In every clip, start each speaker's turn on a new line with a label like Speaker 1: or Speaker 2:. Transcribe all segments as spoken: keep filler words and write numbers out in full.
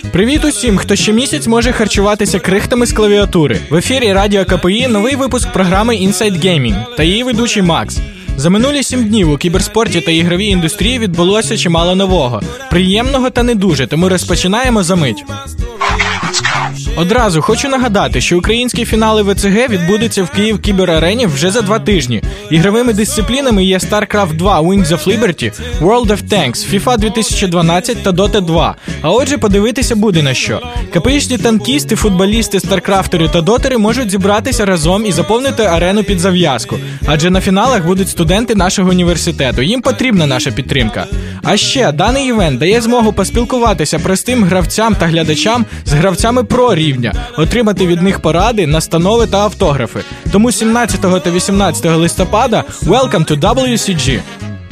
Speaker 1: Привіт усім, хто ще місяць може харчуватися крихтами з клавіатури. В ефірі Радіо КПІ новий випуск програми Inside Gaming та її ведучий Макс. За минулі сім днів у кіберспорті та ігровій індустрії відбулося чимало нового. Приємного та не дуже, тому розпочинаємо за мить. Одразу хочу нагадати, що українські фінали ВЦГ відбудуться в Київ Кіберарені вже за два тижні. Ігровими дисциплінами є StarCraft два Wings of Liberty, World of Tanks, FIFA дві тисячі дванадцять та Dota два. А отже, подивитися буде на що. КПІшні танкісти, футболісти, старкрафтери та дотери можуть зібратися разом і заповнити арену під зав'язку. Адже на фіналах будуть студенти нашого університету. Їм потрібна наша підтримка. А ще, даний івент дає змогу поспілкуватися простим гравцям та глядачам з гравцями про рівня, отримати від них поради, настанови та автографи. Тому сімнадцятого та вісімнадцятого листопада welcome to дабл ю сі джі.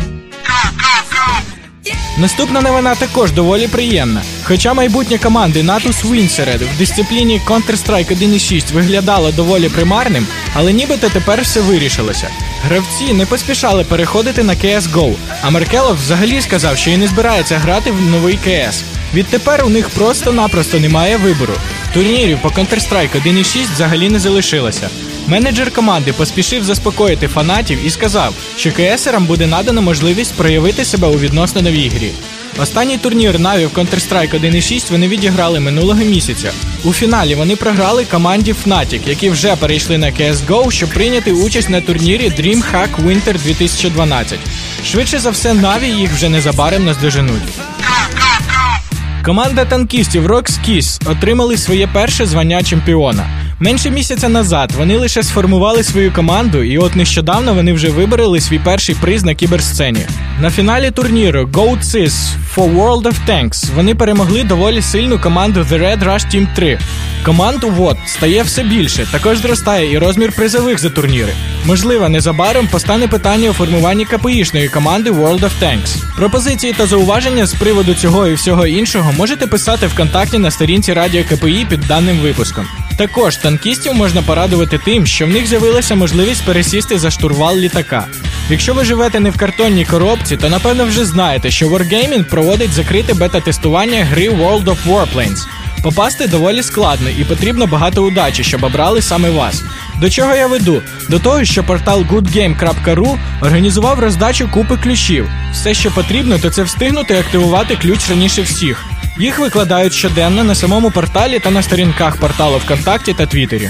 Speaker 1: Наступна новина також доволі приємна. Хоча майбутнє команди Natus Winsered в дисципліні Counter-Strike один і шість виглядало доволі примарним, але нібито тепер все вирішилося. Гравці не поспішали переходити на кей ес гоу, а Маркелов взагалі сказав, що і не збирається грати в новий кей ес. Відтепер у них просто-напросто немає вибору. Турнірів по Counter-Strike один і шість взагалі не залишилося. Менеджер команди поспішив заспокоїти фанатів і сказав, що КСерам буде надано можливість проявити себе у відносно новій грі. Останній турнір Наві в Counter-Strike один і шість вони відіграли минулого місяця. У фіналі вони програли команді Fnatic, які вже перейшли на кей ес гоу, щоб прийняти участь на турнірі DreamHack Winter дві тисячі дванадцять. Швидше за все, Наві їх вже незабаром наздоженуть. Команда танкістів Rockskis отримали своє перше звання чемпіона. Менше місяця назад вони лише сформували свою команду, і от нещодавно вони вже вибороли свій перший приз на кіберсцені. На фіналі турніру GoatSys for World of Tanks вони перемогли доволі сильну команду The Red Rush Team три. Команд у вод стає все більше, також зростає і розмір призових за турніри. Можливо, незабаром постане питання у формуванні КПІшної команди World of Tanks. Пропозиції та зауваження з приводу цього і всього іншого можете писати ВКонтакті на сторінці Радіо КПІ під даним випуском. Також танкістів можна порадувати тим, що в них з'явилася можливість пересісти за штурвал літака. Якщо ви живете не в картонній коробці, то напевно вже знаєте, що Wargaming проводить закрите бета-тестування гри World of Warplanes. Попасти доволі складно і потрібно багато удачі, щоб обрали саме вас. До чого я веду? До того, що портал гудгейм крапка ру організував роздачу купи ключів. Все, що потрібно, то це встигнути активувати ключ раніше всіх. Їх викладають щоденно на самому порталі та на сторінках порталу ВКонтакті та Твіттері.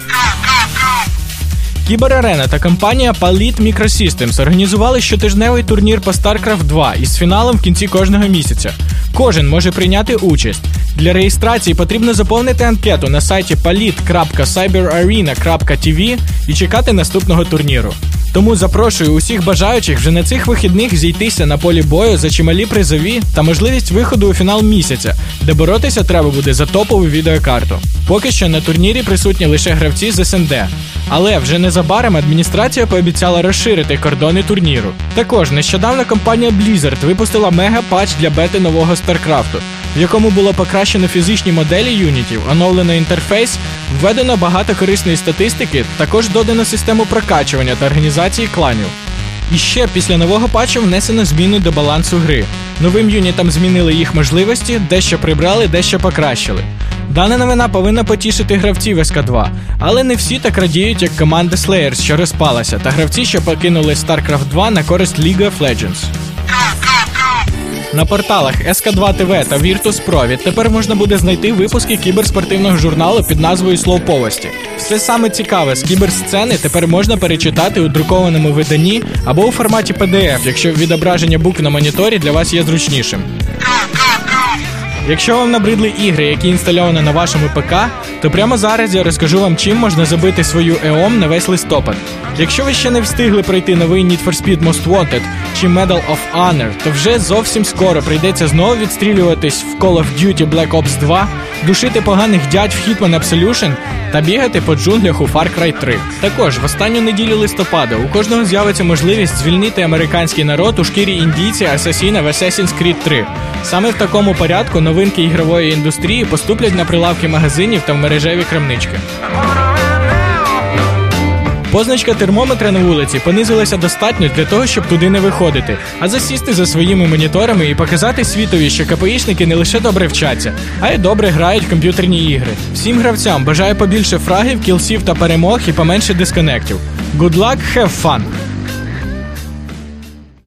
Speaker 1: Кіберарена та компанія Palit Microsystems організували щотижневий турнір по StarCraft два із фіналом в кінці кожного місяця. Кожен може прийняти участь. Для реєстрації потрібно заповнити анкету на сайті palit крапка cyberarena крапка ті ві і чекати наступного турніру. Тому запрошую усіх бажаючих вже на цих вихідних зійтися на полі бою за чималі призові та можливість виходу у фінал місяця, де боротися треба буде за топову відеокарту. Поки що на турнірі присутні лише гравці з ес ен де. Але вже незабаром адміністрація пообіцяла розширити кордони турніру. Також нещодавно компанія Blizzard випустила мега-патч для бети нового StarCraft'у, в якому було покращено фізичні моделі юнітів, оновлено інтерфейс, введено багато корисної статистики, також додано систему прокачування та організації кланів. І ще після нового патчу внесено зміни до балансу гри. Новим юнітам змінили їх можливості, дещо прибрали, дещо покращили. Дана новина повинна потішити гравців ес ка два, але не всі так радіють, як команда Slayers, що розпалася, та гравці, що покинули StarCraft два на користь League of Legends. На порталах ес ка два те ве та Virtus.pro відтепер можна буде знайти випуски кіберспортивного журналу під назвою «Словповості». Все саме цікаве з кіберсцени тепер можна перечитати у друкованому виданні або у форматі пі ді еф, якщо відображення букв на моніторі для вас є зручнішим. Якщо вам набридли ігри, які інстальовані на вашому ПК, то прямо зараз я розкажу вам, чим можна забити свою ЕОМ на весь листопад. Якщо ви ще не встигли пройти новий Need for Speed Most Wanted чи Medal of Honor, то вже зовсім скоро прийдеться знову відстрілюватись в Call of Duty Black Ops два, душити поганих дядь в Hitman Absolution та бігати по джунглях у Far Cry три. Також в останню неділю листопада у кожного з'явиться можливість звільнити американський народ у шкірі індійця-асасіна в Assassin's Creed три. Саме в такому порядку новинки ігрової індустрії поступлять на прилавки магазинів та в мережеві крамнички. Позначка термометра на вулиці понизилася достатньо для того, щоб туди не виходити, а засісти за своїми моніторами і показати світові, що КПІшники не лише добре вчаться, а й добре грають в комп'ютерні ігри. Всім гравцям бажаю побільше фрагів, кілсів та перемог і поменше дисконектів. Good luck, have fun!